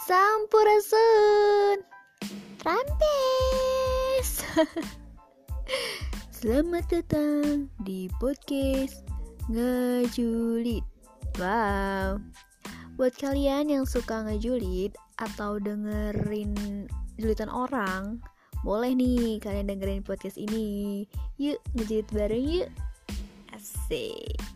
Sampurasun Trampes. Selamat datang di podcast Ngejulit. Wow, buat kalian yang suka ngejulit atau dengerin julitan orang, boleh nih kalian dengerin podcast ini. Yuk ngejulit bareng yuk. Asik.